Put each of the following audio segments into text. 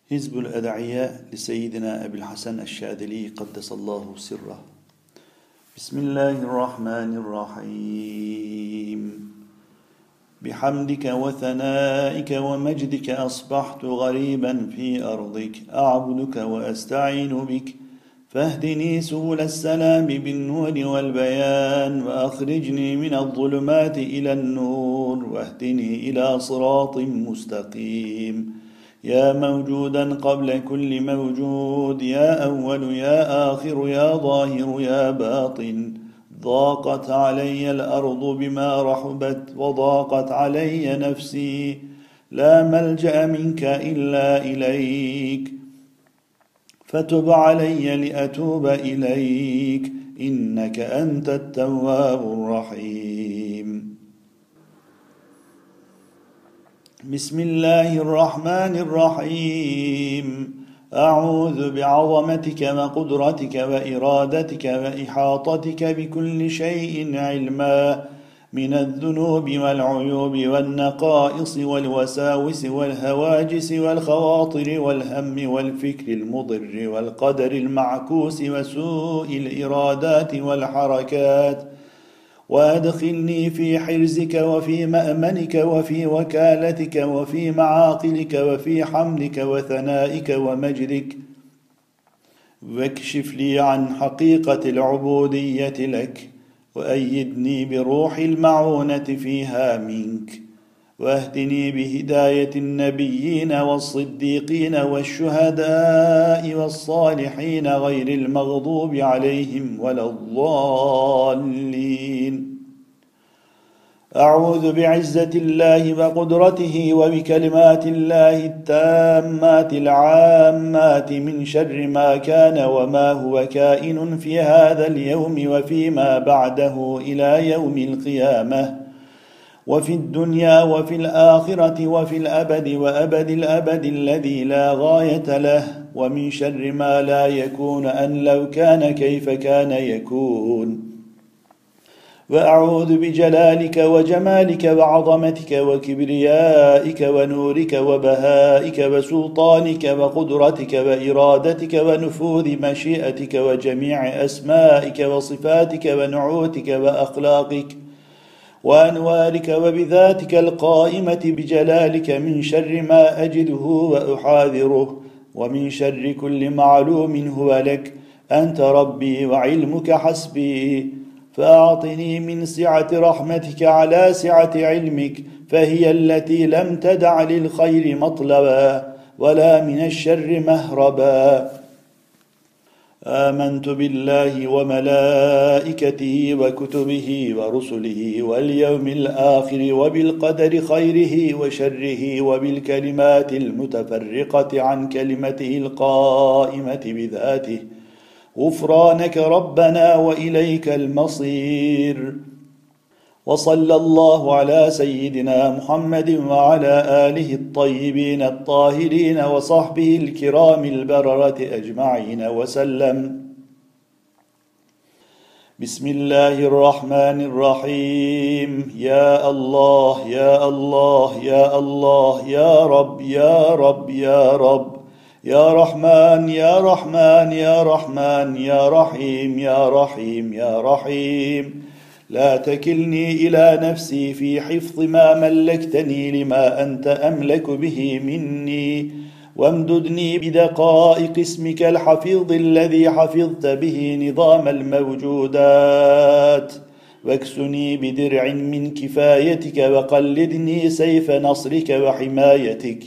حزب الأدعياء لسيدنا أبي الحسن الشاذلي قدس الله سره. بسم الله الرحمن الرحيم. بحمدك وثنائك ومجدك أصبحت غريبا في أرضك، أعبدك وأستعين بك، فاهدني سبل السلام بالنور والبيان، وأخرجني من الظلمات إلى النور، واهدني إلى صراط مستقيم. يا موجودا قبل كل موجود، يا أول يا آخر يا ظاهر يا باطن، ضاقت علي الأرض بما رحبت وضاقت علي نفسي، لا ملجأ منك إلا إليك، فتب علي لأتوب إليك، إنك أنت التواب الرحيم. بسم الله الرحمن الرحيم. أعوذ بعظمتك وقدرتك وإرادتك وإحاطتك بكل شيء علما، من الذنوب والعيوب والنقائص والوساوس والهواجس والخواطر والهم والفكر المضر والقدر المعكوس وسوء الإرادات والحركات، وأدخلني في حرزك وفي مأمنك وفي وكالتك وفي معاقلك وفي حمدك وثنائك ومجدك، واكشف لي عن حقيقة العبودية لك، وأيدني بروح المعونة فيها منك، واهدني بهداية النبيين والصديقين والشهداء والصالحين غير المغضوب عليهم ولا الضالين. أعوذ بعزة الله وقدرته وبكلمات الله التامات العامات من شر ما كان وما هو كائن في هذا اليوم وفيما بعده إلى يوم القيامة، وفي الدنيا وفي الآخرة وفي الأبد وأبد الأبد الذي لا غاية له، ومن شر ما لا يكون أن لو كان كيف كان يكون. وأعوذ بجلالك وجمالك وعظمتك وكبريائك ونورك وبهائك وسلطانك وقدرتك وإرادتك ونفوذ مشيئتك وجميع أسمائك وصفاتك ونعوتك وأخلاقك وأنوارك وبذاتك القائمة بجلالك، من شر ما أجده وأحاذره، ومن شر كل معلوم هو لك، أنت ربي وعلمك حسبي، فأعطني من سعة رحمتك على سعة علمك، فهي التي لم تدع للخير مطلبا ولا من الشر مهربا. آمنت بالله وملائكته وكتبه ورسله واليوم الآخر وبالقدر خيره وشره وبالكلمات المتفرقة عن كلمته القائمة بذاته، غفرانك ربنا وإليك المصير. وصلى الله على سيدنا محمد وعلى آله الطيبين الطاهرين وصحبه الكرام البررة أجمعين وسلم. بسم الله الرحمن الرحيم. يا الله يا الله يا الله يا رب يا رب يا رب، يا رحمن يا رحمن يا رحمن يا رحيم يا رحيم يا رحيم، لا تكلني إلى نفسي في حفظ ما ملكتني لما أنت أملك به مني، وامددني بدقائق اسمك الحفيظ الذي حفظت به نظام الموجودات، واكسني بدرع من كفايتك، وقلدني سيف نصرك وحمايتك،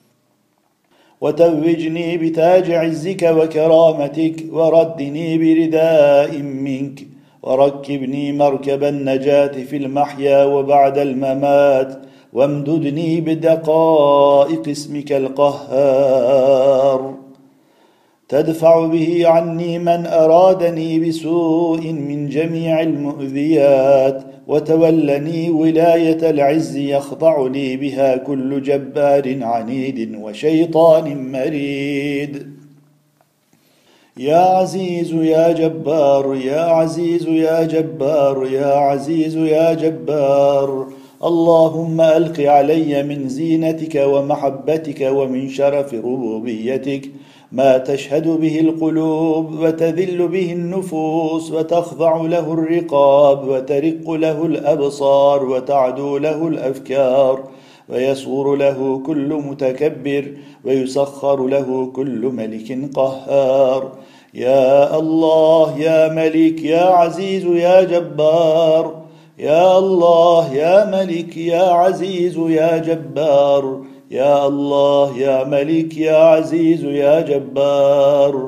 وتوجني بتاج عزك وكرامتك، وردني برداء منك، وركبني مركب النجاة في المحيا وبعد الممات، وامددني بدقائق اسمك القهار، تدفع به عني من أرادني بسوء من جميع المؤذيات، وتولني ولاية العز يخضع لي بها كل جبار عنيد وشيطان مريد. يا عزيز يا جبار يا عزيز يا جبار يا عزيز يا جبار، اللهم ألق علي من زينتك ومحبتك ومن شرف ربوبيتك ما تشهد به القلوب وتذل به النفوس وتخضع له الرقاب وترق له الأبصار وتعدو له الأفكار ويصور له كل متكبر ويسخر له كل ملك قهار. يا الله يا ملك يا عزيز يا جبار، يا الله يا ملك يا عزيز يا جبار، يا الله يا ملك يا عزيز يا جبار،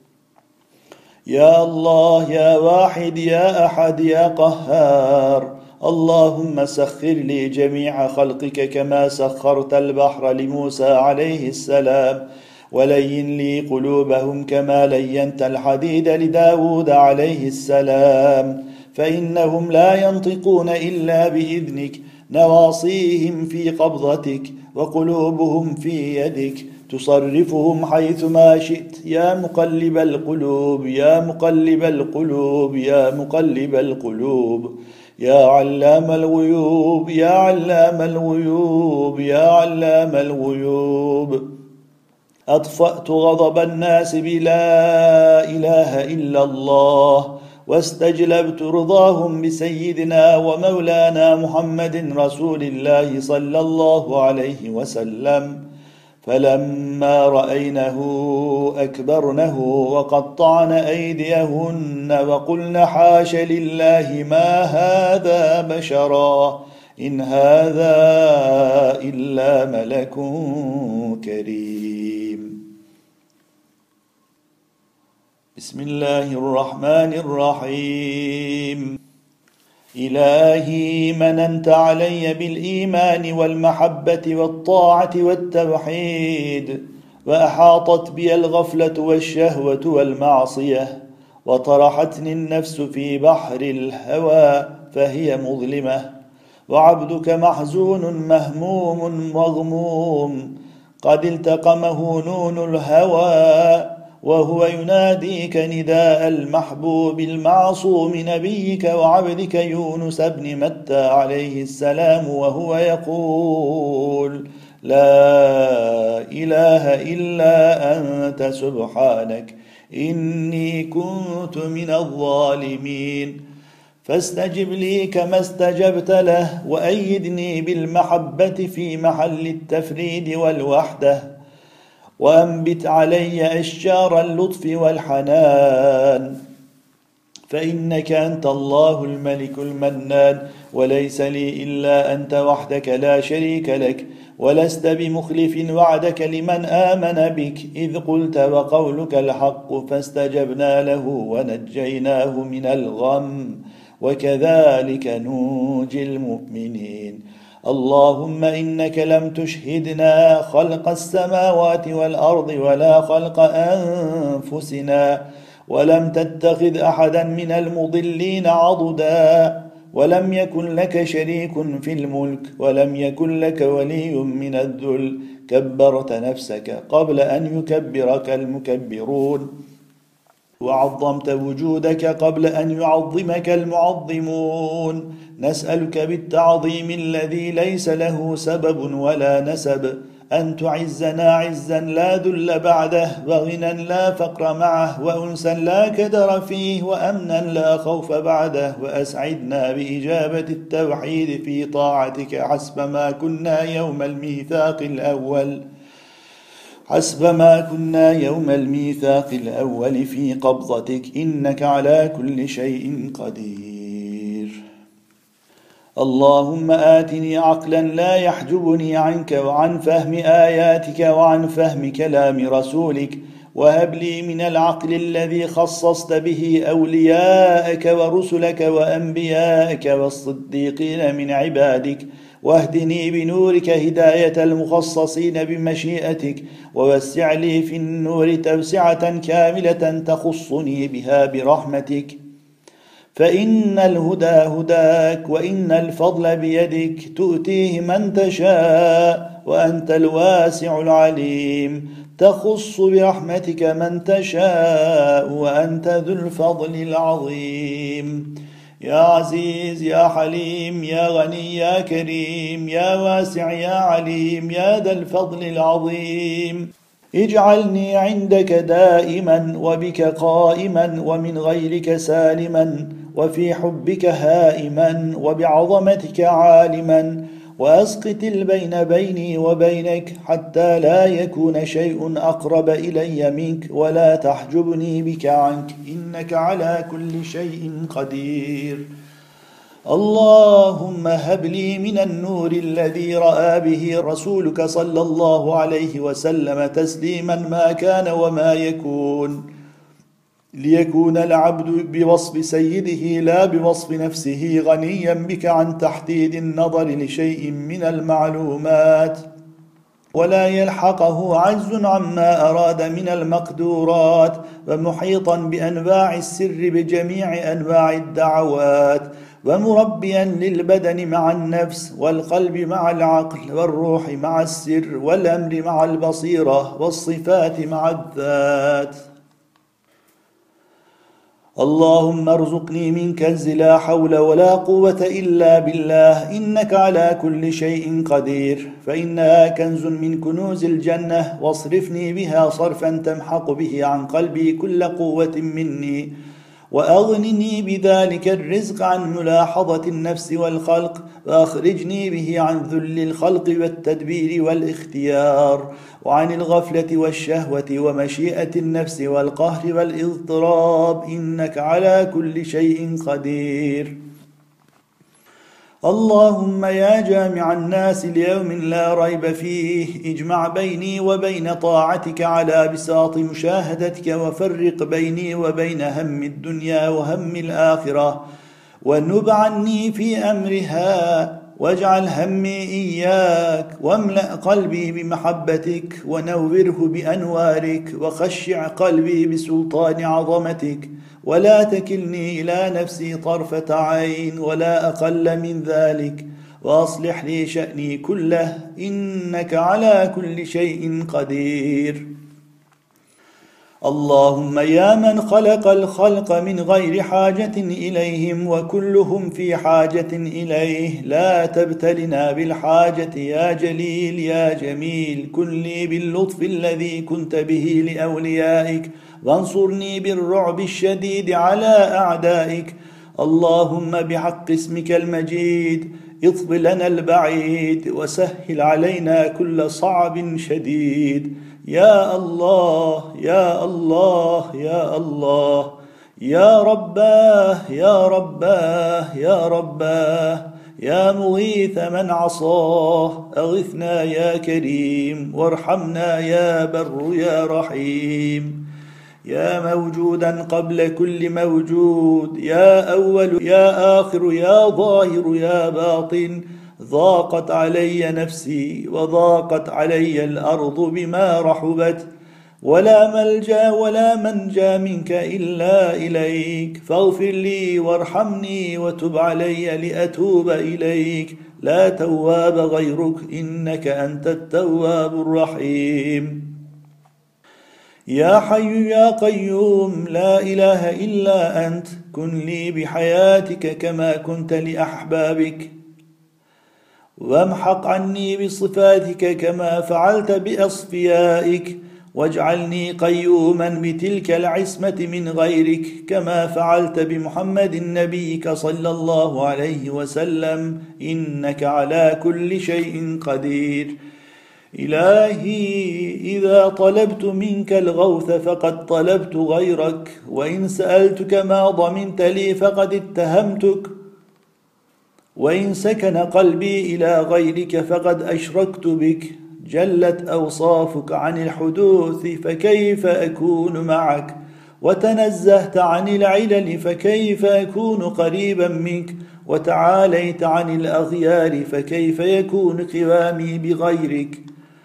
يا الله يا واحد يا أحد يا قهار. اللهم سخر لي جميع خلقك كما سخرت البحر لموسى عليه السلام، ولين لي قلوبهم كما لينت الحديد لداود عليه السلام، فإنهم لا ينطقون إلا بإذنك، نواصيهم في قبضتك وقلوبهم في يدك، تصرفهم حيثما شئت. يا مقلب القلوب يا مقلب القلوب يا مقلب القلوب، يا علام الغيوب يا علام الغيوب يا علام الغيوب. أطفأت غضب الناس بلا إله إلا الله، واستجلبت رضاهم بسيدنا ومولانا محمد رسول الله صلى الله عليه وسلم. فلما رأينه أكبرنه وقطعن أيديهن وقلن حاش لله ما هذا بشرا إن هذا إلا ملك كريم. بسم الله الرحمن الرحيم. إلهي مننت علي بالإيمان والمحبة والطاعة والتوحيد، وأحاطت بي الغفلة والشهوة والمعصية، وطرحتني النفس في بحر الهوى فهي مظلمة، وعبدك محزون مهموم مغموم، قد التقمه نون الهوى، وهو يناديك نداء المحبوب المعصوم نبيك وعبدك يونس بن متى عليه السلام، وهو يقول: لا إله إلا أنت سبحانك إني كنت من الظالمين. فاستجب لي كما استجبت له، وأيدني بالمحبة في محل التفريد والوحدة، وأنبت علي أشجار اللطف والحنان، فإنك أنت الله الملك المنان، وليس لي إلا أنت وحدك لا شريك لك، ولست بمخلف وعدك لمن آمن بك، إذ قلت وقولك الحق، فاستجبنا له ونجيناه من الغم، وكذلك ننجي المؤمنين. اللهم إنك لم تشهدنا خلق السماوات والأرض ولا خلق أنفسنا، ولم تتخذ أحدا من المضلين عضدا، ولم يكن لك شريك في الملك، ولم يكن لك ولي من الذل، كبرت نفسك قبل أن يكبرك المكبرون، وعظمت وجودك قبل أن يعظمك المعظمون. نسألك بالتعظيم الذي ليس له سبب ولا نسب أن تعزنا عزا لا ذل بعده، وغنى لا فقر معه، وأنسا لا كدر فيه، وأمنا لا خوف بعده، وأسعدنا بإجابة التوحيد في طاعتك حسب ما كنا يوم الميثاق الأول في قبضتك، إنك على كل شيء قدير. اللهم آتني عقلا لا يحجبني عنك وعن فهم آياتك وعن فهم كلام رسولك، وهب لي من العقل الذي خصصت به أولياءك ورسلك وأنبياءك والصديقين من عبادك، واهدني بنورك هداية المخصصين بمشيئتك، ووسع لي في النور توسعة كاملة تخصني بها برحمتك، فإن الهدى هداك، وإن الفضل بيدك، تؤتيه من تشاء، وأنت الواسع العليم، تخص برحمتك من تشاء، وأنت ذو الفضل العظيم. يا عزيز يا حليم يا غني يا كريم يا واسع يا عليم يا ذا الفضل العظيم. اجعلني عندك دائما وبك قائما ومن غيرك سالما وفي حبك هائما وبعظمتك عالما، وأسقط البين بيني وبينك حتى لا يكون شيء أقرب إلي منك ولا تحجبني بك عنك، إنك على كل شيء قدير. اللهم هب لي من النور الذي رأى به رسولك صلى الله عليه وسلم تسليما ما كان وما يكون، ليكون العبد بوصف سيده لا بوصف نفسه غنيا بك عن تحديد النظر لشيء من المعلومات، ولا يلحقه عجز عما أراد من المقدورات، ومحيطا بأنواع السر بجميع أنواع الدعوات، ومربيا للبدن مع النفس والقلب مع العقل والروح مع السر والأمر مع البصيرة والصفات مع الذات. اللهم ارزقني من كنز لا حول ولا قوة إلا بالله، إنك على كل شيء قدير، فإنها كنز من كنوز الجنة، واصرفني بها صرفا تمحق به عن قلبي كل قوة مني، وأغنني بذلك الرزق عن ملاحظة النفس والخلق، وأخرجني به عن ذل الخلق والتدبير والاختيار، وعن الغفلة والشهوة ومشيئة النفس والقهر والاضطراب، إنك على كل شيء قدير. اللهم يا جامع الناس ليوم لا ريب فيه، اجمع بيني وبين طاعتك على بساط مشاهدتك، وفرق بيني وبين هم الدنيا وهم الآخرة، ونب عني في أمرها، واجعل همي إياك، واملأ قلبي بمحبتك، ونوره بأنوارك، وخشع قلبي بسلطان عظمتك، ولا تكلني إلى نفسي طرفة عين ولا أقل من ذلك، وأصلح لي شأني كله، إنك على كل شيء قدير. اللهم يا من خلق الخلق من غير حاجة إليهم وكلهم في حاجة إليه، لا تبتلنا بالحاجة يا جليل يا جميل، كن لي باللطف الذي كنت به لأوليائك، وانصرني بالرعب الشديد على أعدائك. اللهم بحق اسمك المجيد اطب لنا البعيد، وسهل علينا كل صعب شديد. يا الله يا الله يا الله، يا رباه يا رباه يا رباه، يا مغيث من عصاه، أغثنا يا كريم، وارحمنا يا بر يا رحيم. يا موجودا قبل كل موجود، يا أول يا آخر يا ظاهر يا باطن، ضاقت علي نفسي وضاقت علي الأرض بما رحبت، ولا ملجأ ولا منجا منك إلا إليك، فاغفر لي وارحمني وتب علي لأتوب إليك، لا تواب غيرك، إنك أنت التواب الرحيم. يا حي يا قيوم لا إله إلا أنت، كن لي بحياتك كما كنت لأحبابك، وامحق عني بصفاتك كما فعلت بأصفيائك، واجعلني قيوما بتلك العصمة من غيرك كما فعلت بمحمد نبيك صلى الله عليه وسلم، إنك على كل شيء قدير. إلهي إذا طلبت منك الغوث فقد طلبت غيرك، وإن سألتك ما ضمنت لي فقد اتهمتك، وإن سكن قلبي إلى غيرك فقد أشركت بك، جلت أوصافك عن الحدوث فكيف أكون معك، وتنزهت عن العلل فكيف أكون قريبا منك، وتعاليت عن الأغيار فكيف يكون قوامي بغيرك.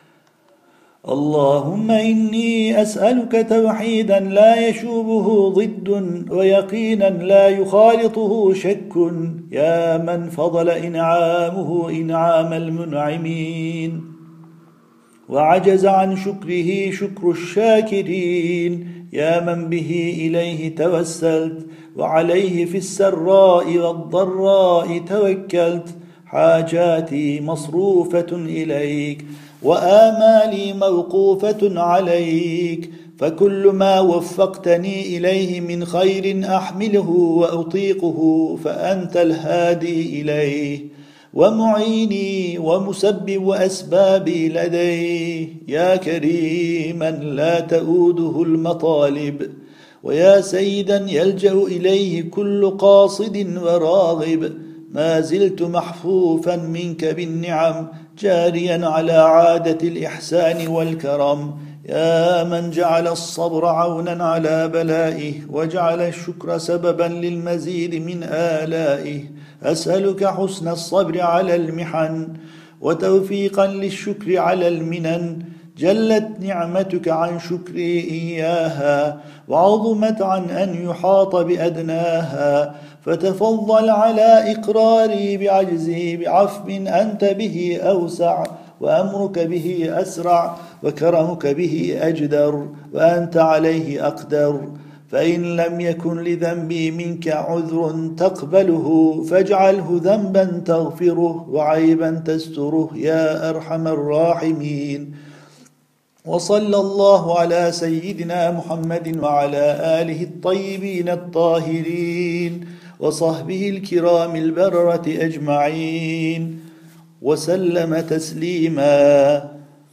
اللهم إني أسألك توحيدا لا يشوبه ضد، ويقينا لا يخالطه شك، يا من فضل إنعامه إنعام المنعمين، وعجز عن شكره شكر الشاكرين. يا من به إليه توسلت وعليه في السراء والضراء توكلت. حاجاتي مصروفة إليك وآمالي موقوفة عليك، فكل ما وفقتني إليه من خير أحمله وأطيقه، فأنت الهادي إليه ومعيني ومسبب أسبابي لديه. يا كريما لا تؤوده المطالب، ويا سيدا يلجأ إليه كل قاصد وراغب، ما زلت محفوفا منك بالنعم جاريا على عادة الإحسان والكرم. يا من جعل الصبر عونا على بلائه وجعل الشكر سببا للمزيد من آلائه، أسألك حسن الصبر على المحن وتوفيقا للشكر على المنن. جلت نعمتك عن شكري إياها وعظمت عن أن يحاط بأدناها، فتفضل على إقراري بعجزي بعفو أنت به أوسع، وأمرك به أسرع، وكرمك به أجدر، وأنت عليه أقدر. فإن لم يكن لذنبي منك عذر تقبله فاجعله ذنبا تغفره وعيبا تستره يا أرحم الراحمين. وصلى الله على سيدنا محمد وعلى آله الطيبين الطاهرين وصحبه الكرام البررة أجمعين وسلم تسليما.